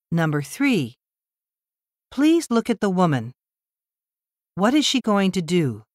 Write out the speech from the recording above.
Number 3. Please look at the woman. What is she going to do?